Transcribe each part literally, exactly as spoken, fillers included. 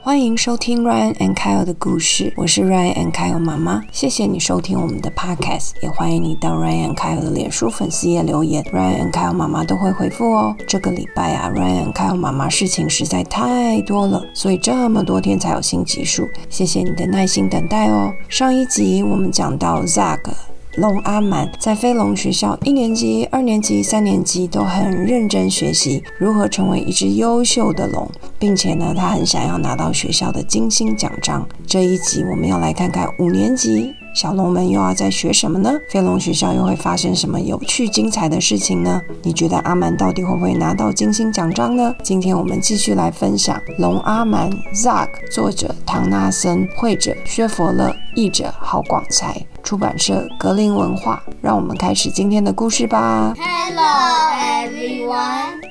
欢迎收听 Ryan and Kyle 的故事，我是 Ryan and Kyle 妈妈。谢谢你收听我们的 podcast， 也欢迎你到 Ryan and Kyle 的脸书粉丝页留言， Ryan and Kyle 妈妈都会回复哦。这个礼拜啊 Ryan and Kyle 妈妈事情实在太多了，所以这么多天才有新集数，谢谢你的耐心等待哦。上一集我们讲到 Zach龙阿蛮在飞龙学校一年级、二年级、三年级都很认真学习如何成为一只优秀的龙，并且呢，他很想要拿到学校的金星奖章。这一集我们要来看看五年级小龙们又要在学什么呢？飞龙学校又会发生什么有趣精彩的事情呢？你觉得阿蛮到底会不会拿到金星奖章呢？今天我们继续来分享龙阿蛮 Zach， 作者唐纳森，绘者薛佛勒，译者郝广才，出版社格林文化。让我们开始今天的故事吧。 Hello everyone,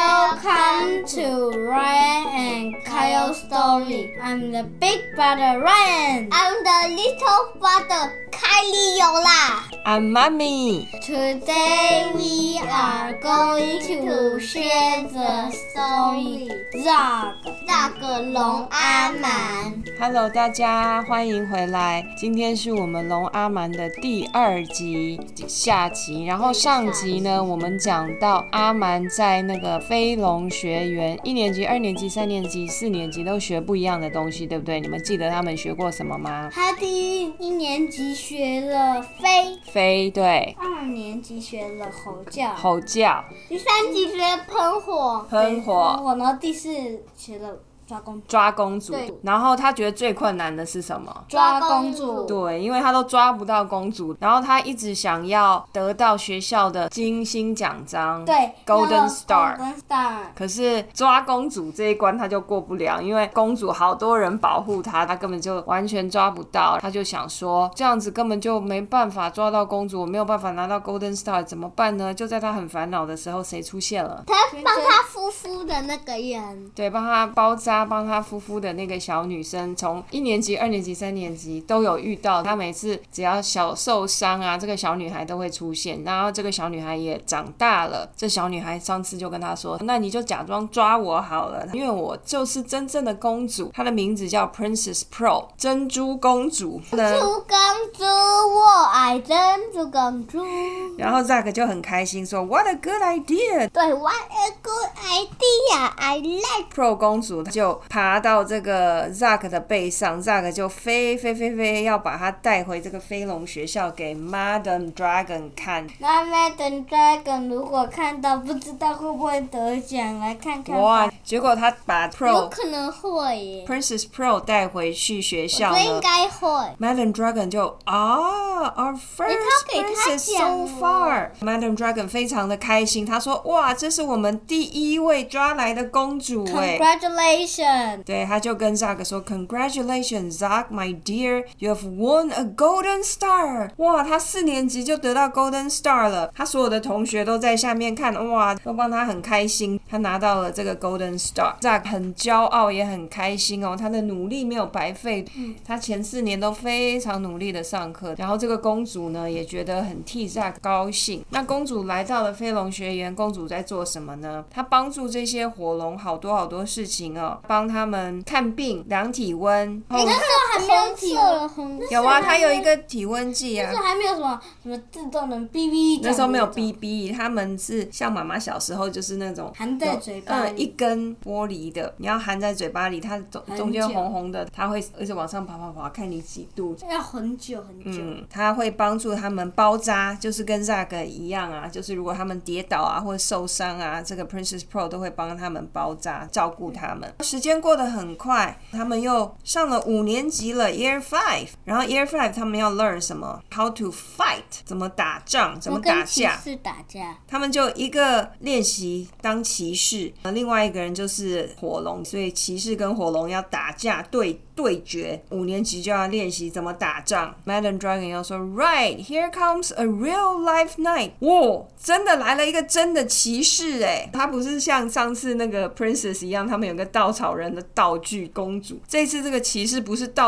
welcome to Ryan and Kyle's story. I'm the big brother Ryan. I'm the little brother Kylie Yola. I'm Mommy. Today we are going to share the story Zach, Zach 龙阿蛮。 Hello 大家，欢迎回来。今天是我们龙阿蛮的第二集下集，然后上集呢我们讲到阿蛮在那个飞龙学园一年级、二年级、三年级、四年级都学不一样的东西，对不对？你们记得他们学过什么吗？ 他第一一年级学了飞， 飞，对。 二年级学了吼叫， 吼叫。 第三集学喷火， 喷火。 然后第四学了抓公主， 抓公主。 对。 然后他觉得最困难的是什么？ 抓公主。 对，因为他都抓不到公主，然后他一直想要得到学校的金星奖章， 对 ，Golden Star。 Golden Star。 可是抓公主这一关他就过不了，因为公主好多人保护他，他根本就完全抓不到。他就想说，这样子根本就没办法抓到公主，我没有办法拿到 Golden Star， 怎么办呢？就在他很烦恼的时候，谁出现了？ 他帮他夫妇的那个人， 对，帮他包扎。帮他夫妇的那个小女生，从一年级、二年级、三年级都有遇到。他每次只要小受伤啊，这个小女孩都会出现。然后这个小女孩也长大了，这小女孩上次就跟他说：“那你就假装抓我好了，因为我就是真正的公主。”她的名字叫 Princess Pearl， 珍珠公主。 珍珠公主，我爱珍珠公主。 然后 Zach 就很开心说 ：“What a good idea！” 对 ，What a good idea！I like Pearl 公主就爬到这个 Zach 的背上， Zach 就飞飞飞飞要把他带回这个飞龙学校给 Madam Dragon 看。 那 Madam Dragon 如果看到不知道会不会得奖，来看看吧。 哇！结果他把 Pearl 有可能会耶 Princess Pearl 带回去学校呢， 我觉得应该会。 Madam Dragon 就啊 Our first 给他 princess so far。 Madam Dragon 非常的开心，他说哇，这是我们第一位抓来的公主耶。 Congratulations！ 对，他就跟 Zach 说 Congratulations Zach my dear, you have won a golden star。 哇，他四年级就得到 golden star 了，他所有的同学都在下面看，哇，都帮他很开心，他拿到了这个 golden star。 Zach 很骄傲也很开心哦，他的努力没有白费，嗯、他前四年都非常努力的上课。然后这个公主呢也觉得很替 Zach 高兴。那公主来到了飞龙学园，公主在做什么呢？她帮助这些火龙好多好多事情哦，帮他们看病、量体温。 那时候还没有体温， 有啊，它有一个体温计啊。 那时候还没有什么什么自动的 B B。 那时候没有 B B， 他们是像妈妈小时候就是那种含在嘴巴里， 嗯，一根玻璃的，你要含在嘴巴里，它中中间红红的，它会一直往上爬爬爬，看你几度。 要很久很久。 嗯，它会帮助他们包扎，就是跟 Zach 一样啊，就是如果他们跌倒啊或者受伤啊，这个 Princess Pearl 都会帮他们包扎，照顾他们。时间过得很快，他们又上了五年级了 Year five， 然后 Year five 他们要 learn 什么 How to fight， 怎么打仗，怎么打架。 跟骑士打架。 他们就一个练习当骑士，另外一个人就是火龙，所以骑士跟火龙要打架对对决。五年级就要练习怎么打仗。 Madam Dragon 要说 Right, here comes a real life knight。 哇，真的来了一个真的骑士耶，他不是像上次那个 Princess 一样，他们有个稻草人的道具公主，这次这个骑士不是道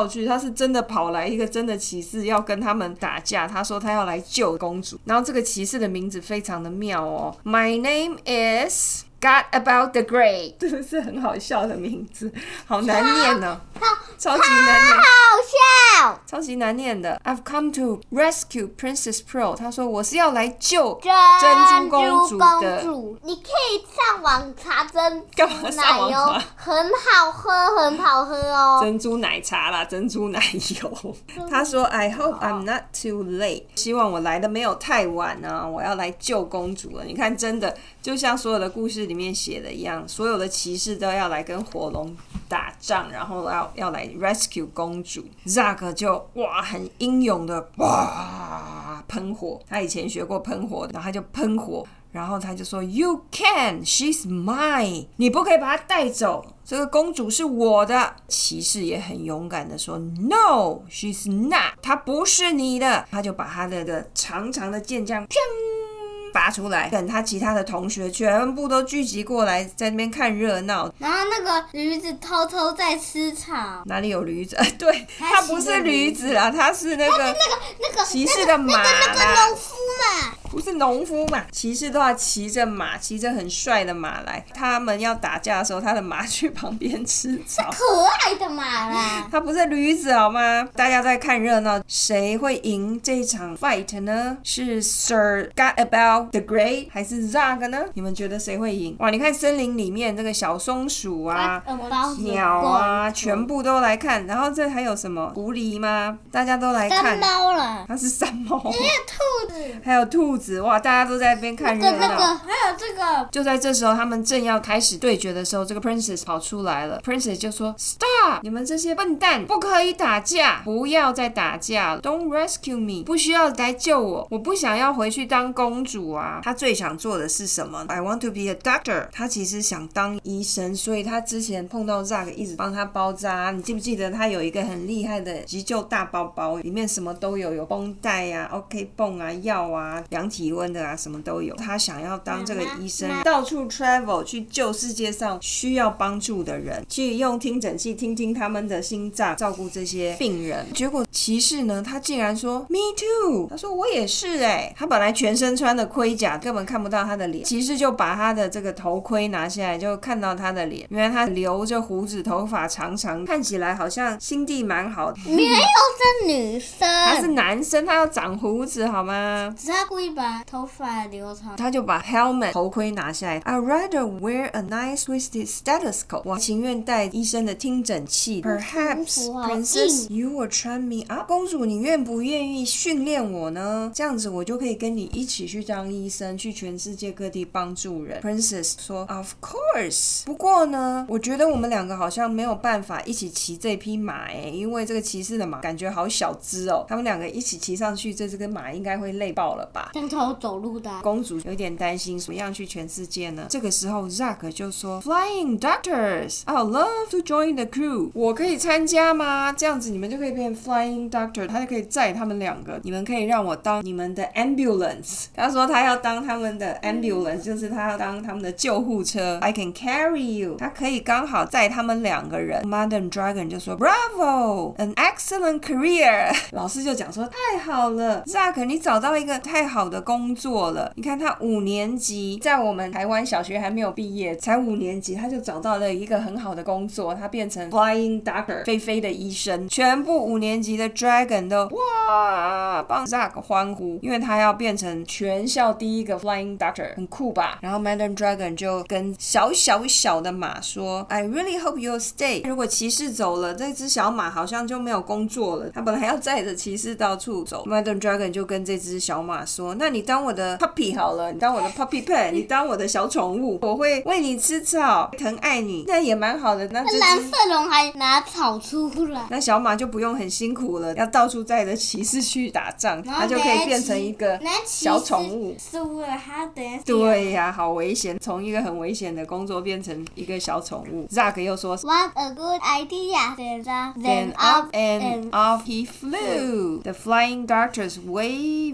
道具，他是真的跑来一个真的骑士要跟他们打架，他说他要来救公主。然后这个骑士的名字非常的妙哦 My name is God about the Great， 这个是很好笑的名字，好难念哦，超级难念， 好笑， 超级难念的。I've come to rescue Princess Pearl， 他说我是要来救珍珠公主的。 公主你可以上网查珍干嘛珠奶油， 上网查很好喝，很好喝哦。 珍珠奶茶啦，珍珠奶油。他说 I hope I'm not too late， 希望我来的没有太晚啊，我要来救公主了。你看，真的就像所有的故事里面写的一样，所有的骑士都要来跟火龙打仗，然后要要来 rescue 公主。Zack 就哇很英勇的哇喷火，他以前学过喷火，然后他就喷火，然后他就说 You can, she's mine， 你不可以把她带走，这个公主是我的。骑士也很勇敢的说 No, she's not， 她不是你的。他就把他的个长长的剑这样砰拔出来，等他其他的同学全部都聚集过来，在那边看热闹。 然后那个驴子偷偷在吃草， 哪里有驴子？对，他不是驴子啦，他是那个那个那个骑士的马啦， 那个农夫嘛， 不是农夫嘛？骑士都要骑着马，骑着很帅的马来。他们要打架的时候，他的马去旁边吃草。 可爱的马啦。 他不是驴子好吗？大家在看热闹，谁会赢这一场 fight 呢？是 Sir God About the Great 还是 Zack 呢？你们觉得谁会赢？哇，你看森林里面这个小松鼠啊、鸟啊，全部都来看。然后这还有什么狐狸吗？大家都来看。 山猫了， 它是山猫。 还有兔子， 还有兔子，哇，大家都在那边看热闹。 那个还有这个。 就在这时候，他们正要开始对决的时候，这个 Princess 跑出来了。Princess 就说 Stop， 你们这些笨蛋，不可以打架，不要再打架了 Don't rescue me， 不需要来救我，我不想要回去当公主啊。她最想做的是什么？ I want to be a doctor， 她其实想当医生，所以她之前碰到 Zack 一直帮她包扎。你记不记得她有一个很厉害的急救大包包，里面什么都有，有绷带啊 OK 泵啊，药啊，量体温的啊，什么都有。她想要当这个医生，到处 travel 去救世界上需要帮助的人，去用听诊器听听他们的心脏，照顾这些病人。结果骑士呢，他竟然说 Me too， 他说我也是哎、欸。他本来全身穿的盔甲，根本看不到他的脸。骑士就把他的这个头盔拿下来，就看到他的脸。原来他留着胡子，头发长长，看起来好像心地蛮好的。 没有是女生， 他是男生，他要长胡子好吗？ 只是他故意把头发留长。 他就把 helmet 头盔拿下来。I'd rather wear a nice twisted stethoscope， 我情愿戴医生的听诊器。Perhaps Princess you will train me up， 公主你愿不愿意训练我呢？这样子我就可以跟你一起去当医生，去全世界各地帮助人。Princess 说 Of course， 不过呢，我觉得我们两个好像没有办法一起骑这匹马哎，因为这个骑士的马感觉好小只哦，他们两个一起骑上去，这只跟马应该会累爆了吧？ 像头走路的、啊。 公主有点担心，怎么样去全世界呢？这个时候 Zack 就说 Flying Doctors I'd love to join the crew， 我可以参加吗？这样子你们就可以变 Flying Doctor， 他就可以载他们两个，你们可以让我当你们的 ambulance。 他说他要当他们的 ambulance， 就是他要当他们的救护车。 I can carry you， 他可以刚好载他们两个人。 Madam Dragon 就说 Bravo an excellent career， 老师就讲说太好了 Zack 你找到一个太好的工作了。你看他五年级，在我们台湾小学还没有毕业，才五年级他就找到了一个很好的工作，他变成 Flying Doctor 飞飞的医生。全部五年级的 Dragon 都哇帮 Zack 欢呼，因为他要变成全校第一个 Flying Doctor， 很酷吧？然后 Madam Dragon 就跟小小小的马说 I really hope you'll stay， 如果骑士走了，这只小马好像就没有工作了。他本来要载着骑士到处走， Madam Dragon 就跟这只小马说那你当我的 puppy 好了，你当我的 puppy pet， 你当我的小宠物，我会喂你吃草，疼爱你，那也蛮好的。那这只蓝色龙还拿草出来， 那小马就不用很辛苦了，要到处载着骑士去打仗，它就可以变成一个小宠物。 是为了他等下对呀、啊，好危险，从一个很危险的工作变成一个小宠物。 Zack 又说 What a good idea Then Then up and off he flew. The flying doctors waving a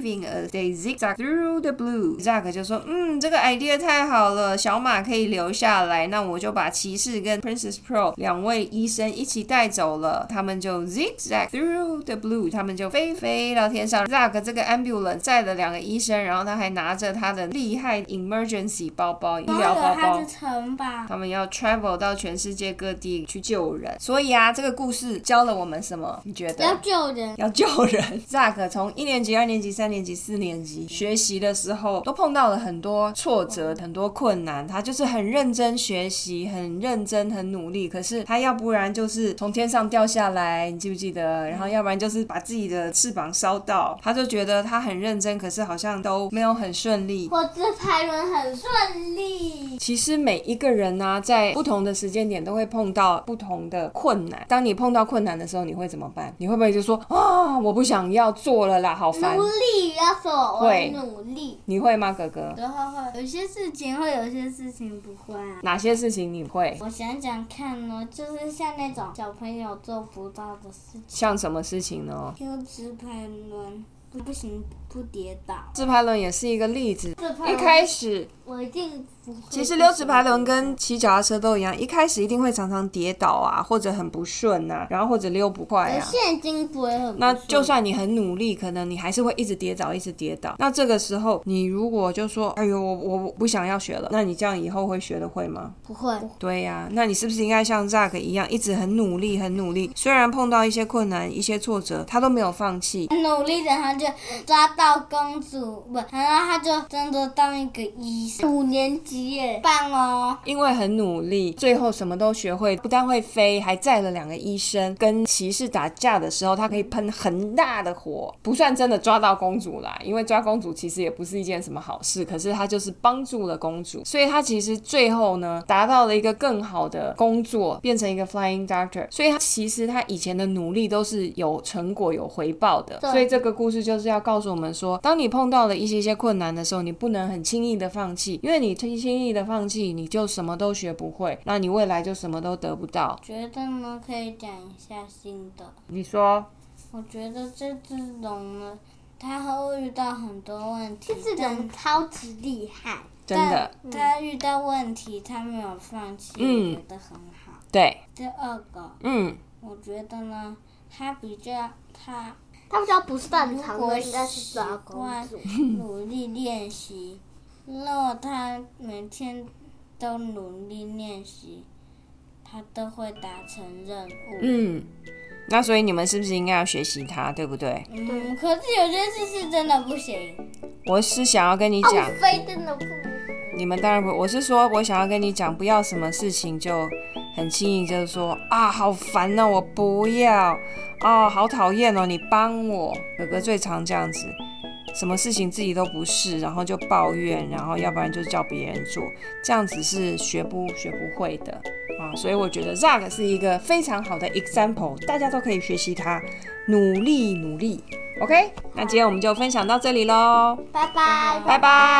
的 They zigzag through the blue。 Zack 就说嗯这个 idea 太好了，小马可以留下来，那我就把骑士跟 Princess Pearl 两位医生一起带走了。他们就 zigzag through the blue， 他们就飞飞到天上。 Zack 这个 ambulance 载了两个医生，然后他还拿着他的厉害 emergency 包包，医疗包包， 他的城堡， 他们要 travel 到全世界各地去救人。所以啊这个故事教了我们什么？你觉得？ 要救人， 要救人。 Zack 从一年级、二年级、三年级、四年级学习的时候都碰到了很多挫折，很多困难，他就是很认真学习，很认真很努力，可是他要不然就是从天上掉下来，你记不记得？然后要不然就是把自己的翅膀烧到，他就觉得他很认真，可是好像都没有很顺利。 我自拍轮很顺利。 其实每一个人啊在不同的时间点都会碰到不同的困难，当你碰到困难的时候你会怎么办？你会不会就说啊我不想要做了啦，好烦。 努力要说我会努力。 你会吗哥哥？ 然后会有些事情会，有些事情不会啊。 哪些事情你会？ 我想想看呢，就是像那种小朋友做不到的事情。 像什么事情呢？ 丢直排轮不行不跌倒。 直排轮也是一个例子。一开始我一定不会。 其实溜直排轮跟骑脚踏车都一样，一开始一定会常常跌倒啊，或者很不顺啊，然后或者溜不快啊。 现金不会很不顺。 那就算你很努力，可能你还是会一直跌倒，一直跌倒。那这个时候，你如果就说，哎呦，我我不想要学了，那你这样以后会学得会吗？ 不会。 对呀、啊，那你是不是应该像 Zack 一样，一直很努力，很努力？虽然碰到一些困难、一些挫折，他都没有放弃。 努力的他就抓到公主，不，然后他就真的当一个医生。五年级耶，棒哦！ 因为很努力，最后什么都学会，不但会飞，还载了两个医生。跟骑士打架的时候，他可以喷很大的火，不算真的抓到公主啦，因为抓公主其实也不是一件什么好事，可是他就是帮助了公主，所以他其实最后呢，达到了一个更好的工作，变成一个 flying doctor。所以他其实他以前的努力都是有成果、有回报的。所以这个故事就是要告诉我们说，当你碰到了一些些困难的时候，你不能很轻易的放弃，因为你轻易的放弃，你就什么都学不会，那你未来就什么都得不到。 觉得呢，可以讲一下新的。 你说？ 我觉得这只龙呢，它会遇到很多问题， 这只龙超级厉害， 真的。 它遇到问题，它没有放弃， 嗯、 我觉得很好。 对。 第二个， 嗯， 我觉得呢，它比较它。 他比较不擅长的应该是抓公主。 努力练习，如果他每天都努力练习，他都会达成任务。 嗯，那所以你们是不是应该要学习他，对不对？ 嗯，可是有些事是真的不行。 我是想要跟你讲， 非真的不。 你们当然不，我是说我想要跟你讲，不要什么事情就很轻易就是说啊好烦哦，我不要啊，好讨厌哦，你帮我。哥哥最常这样子，什么事情自己都不是，然后就抱怨，然后要不然就叫别人做，这样子是学不学不会的啊。所以我觉得 Zack 是一个非常好的 example， 大家都可以学习他，努力努力。OK， 那今天我们就分享到这里咯， 拜拜， 拜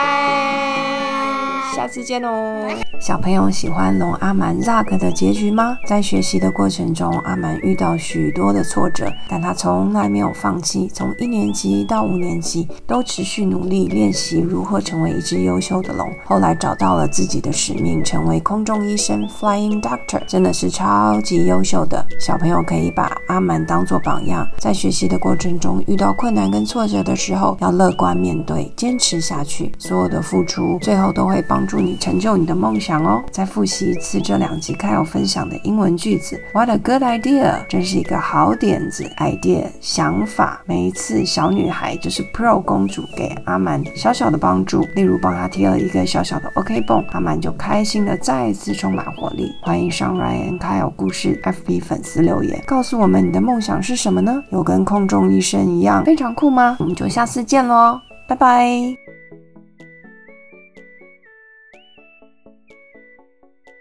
拜，下次见哦。 小朋友喜欢龙阿蛮 Zack 的结局吗？在学习的过程中，阿蛮遇到许多的挫折，但他从来没有放弃，从一年级到五年级都持续努力练习如何成为一只优秀的龙。后来找到了自己的使命，成为空中医生 Flying Doctor， 真的是超级优秀的。小朋友可以把阿蛮当作榜样，在学习的过程中遇到困难跟挫折的时候，要乐观面对，坚持下去。所有的付出最后都会帮助你成就你的梦想哦。再复习一次这两集Kyle分享的英文句子。 What a good idea， 真是一个好点子。 idea 想法，每一次小女孩就是 Pearl 公主给阿蛮小小的帮助，例如帮她贴了一个小小的 OK 绷，阿蛮就开心的再一次充满活力。欢迎上 Ryan Kyle 故事 F B 粉丝留言，告诉我们你的梦想是什么呢？有跟空中医生一样非常酷吗？我们就下次见咯，拜拜。